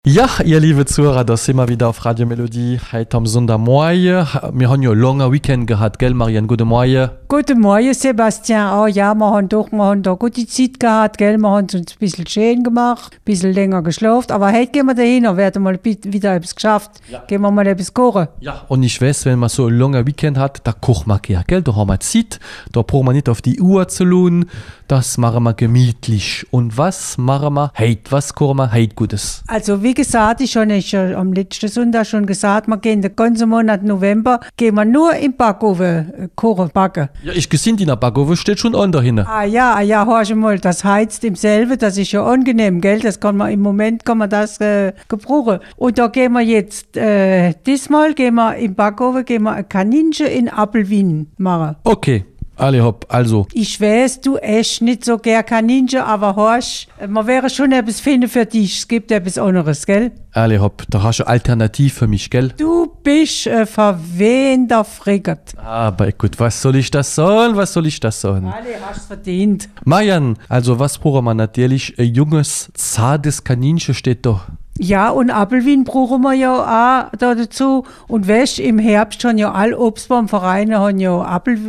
Ja, ihr liebe Zuhörer, da sind wir wieder auf Radio Melodie heute am Sonntagmorgen. Wir haben ja ein langer Weekend gehabt, gell Marianne? Guten Morgen. Guten Morgen, Sebastian. Oh ja, wir haben da gute Zeit gehabt, gell? Wir haben uns ein bisschen schön gemacht, ein bisschen länger geschlafen. Aber heute gehen wir dahin und werden mal wieder etwas geschafft. Ja. Gehen wir mal etwas kochen. Ja, und ich weiß, wenn man so ein langer Weekend hat, da kocht man gerne, gell? Da haben wir Zeit, da brauchen wir nicht auf die Uhr zu lohnen. Das machen wir gemütlich. Und was machen wir heute? Was kochen wir heute Gutes? Also wie gesagt, ich habe am letzten Sonntag schon gesagt, wir gehen den ganzen Monat November, gehen wir nur im Backofen kochen, backen. Ja, ich gesehen, in der Backofen steht schon an dahin. Ah ja, hörst du mal, das heizt im selben, das ist ja angenehm, gell? Das kann man im Moment gebrauchen. Und da gehen wir jetzt, diesmal gehen wir im Backofen, ein Kaninchen in Apfelwein machen. Okay. Alle hopp, also. Ich weiß, du isst nicht so gern Kaninchen, aber horch, man wäre schon etwas finden für dich. Es gibt etwas anderes, gell? Alle hopp, da hast du eine Alternative für mich, gell? Du bist ein verwehender Friggert. Aber gut, was soll ich das sagen? Alle hast verdient. Marianne, also was brauchen wir natürlich? Ein junges, zartes Kaninchen steht da. Ja, und Apfelwein brauchen wir ja auch da dazu. Und weißt, im Herbst haben ja alle Obstbaumvereine haben ja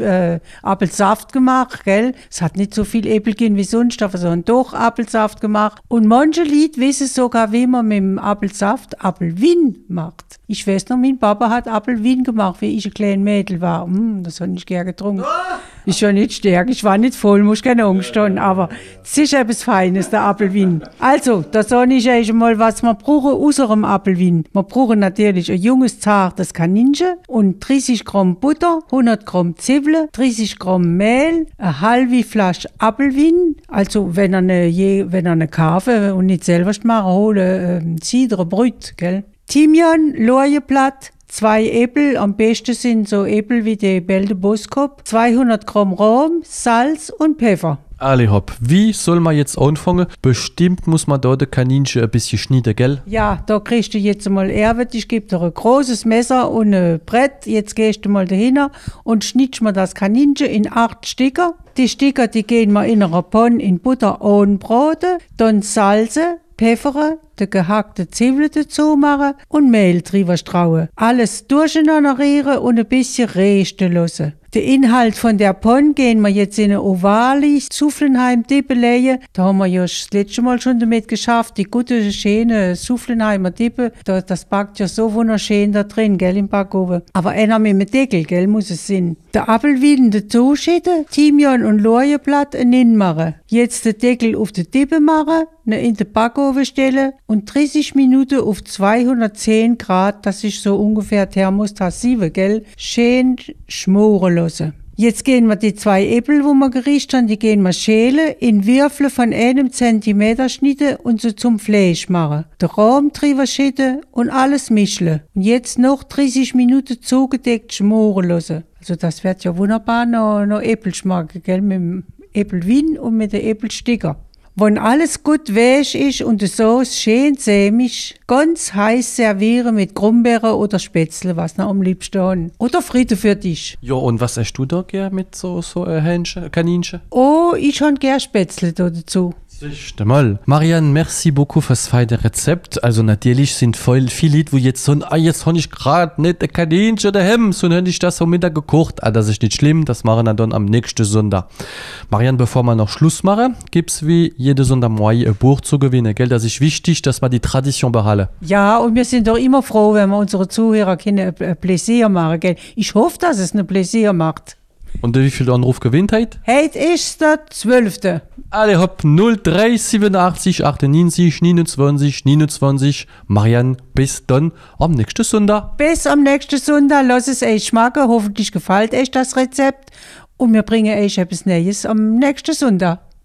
Apfelsaft gemacht, gell? Es hat nicht so viel Äpfel gegeben wie sonst, aber sie haben doch Apfelsaft gemacht. Und manche Leute wissen sogar, wie man mit dem Apfelsaft Apfelwein macht. Ich weiß noch, mein Papa hat Apfelwein gemacht, wie ich ein kleines Mädel war. Das habe ich gerne getrunken. Ist ja nicht stark, ich war nicht voll, muss keine Angst haben, aber es ist etwas Feines, der Apfelwein. Also, da sage ich euch mal, was wir brauchen außer dem Apfelwein. Wir brauchen natürlich ein junges, zartes Kaninchen und 30 Gramm Butter, 100 Gramm Zwiebeln, 30 Gramm Mehl, eine halbe Flasche Apfelwein. Also, wenn ihr eine kaufen und nicht selber machen, holen Cidre Brut, gell? Thymian, Lorbeerblatt, 2 Äpfel, am besten sind so Äpfel wie die Belde Boskop, 200 Gramm Rahm, Salz und Pfeffer. Alle hopp, wie soll man jetzt anfangen? Bestimmt muss man da den Kaninchen ein bisschen schneiden, gell? Ja, da kriegst du jetzt mal Erwit, ich gebe dir ein großes Messer und ein Brett. Jetzt gehst du mal dahin und schnittst mir das Kaninchen in 8 Stücke. Die Stücke, die gehen wir in einer Pfanne in Butter anbraten, dann salzen, Pfeffern, die gehackte Zwiebeln dazu machen und Mehl drüber strauen. Alles durcheinander rühren und ein bisschen rösten lassen. Den Inhalt von der Pfanne gehen wir jetzt in eine ovale Soufflenheim-Dippe legen. Da haben wir ja das letzte Mal schon damit geschafft, die gute, schöne Soufflenheimer Dippe. Das backt ja so wunderschön da drin, gell, im Backofen. Aber einer mit dem Deckel, gell, muss es sein. Der Apfelwein dazu schütten, Thymian und Lorbeerblatt machen. Jetzt den Deckel auf die Dippe machen, in den Backofen stellen und 30 Minuten auf 210 Grad, das ist so ungefähr Thermostat 7, gell, schön schmoren lassen. Jetzt gehen wir die 2 Äpfel, wo wir gerichtet haben, die gehen wir schälen, in Würfel von 1 Zentimeter schneiden und so zum Fleisch machen. Den Rahm drüber schütten und alles mischen. Und jetzt noch 30 Minuten zugedeckt schmoren lassen. Also das wird ja wunderbar noch Äpfel schmecken, gell, mit dem Äpfelwein und mit den Äpfelsticker. Wenn alles gut weich ist und die Sauce schön sämig, ganz heiß servieren mit Grumbeeren oder Spätzle, was noch am liebsten haben. Oder Fritte für dich. Ja, und was hast du da gern mit so Kaninchen? Oh, ich habe gern Spätzle da dazu. Siehst mal. Marianne, merci beaucoup fürs feine Rezept. Also natürlich sind voll viele Leute, die jetzt so jetzt habe ich gerade nicht ein Kaninchen daheim, so habe ich das am Mittag gekocht. Das ist nicht schlimm, das machen wir dann am nächsten Sonntag. Marianne, bevor wir noch Schluss machen, gibt es wie jede Sonntagmorgen ein Buch zu gewinnen, gell? Das ist wichtig, dass wir die Tradition behalten. Ja, und wir sind doch immer froh, wenn wir unsere Zuhörer ein Pläsier machen, gell? Ich hoffe, dass es ein Pläsier macht. Und wie viel Anruf gewinnt heute? Heute ist der 12. Alle hopp 0387 98 29 29. Marianne, bis dann am nächsten Sonntag. Bis am nächsten Sonntag. Lass es euch schmecken. Hoffentlich gefällt euch das Rezept. Und wir bringen euch etwas Neues am nächsten Sonntag.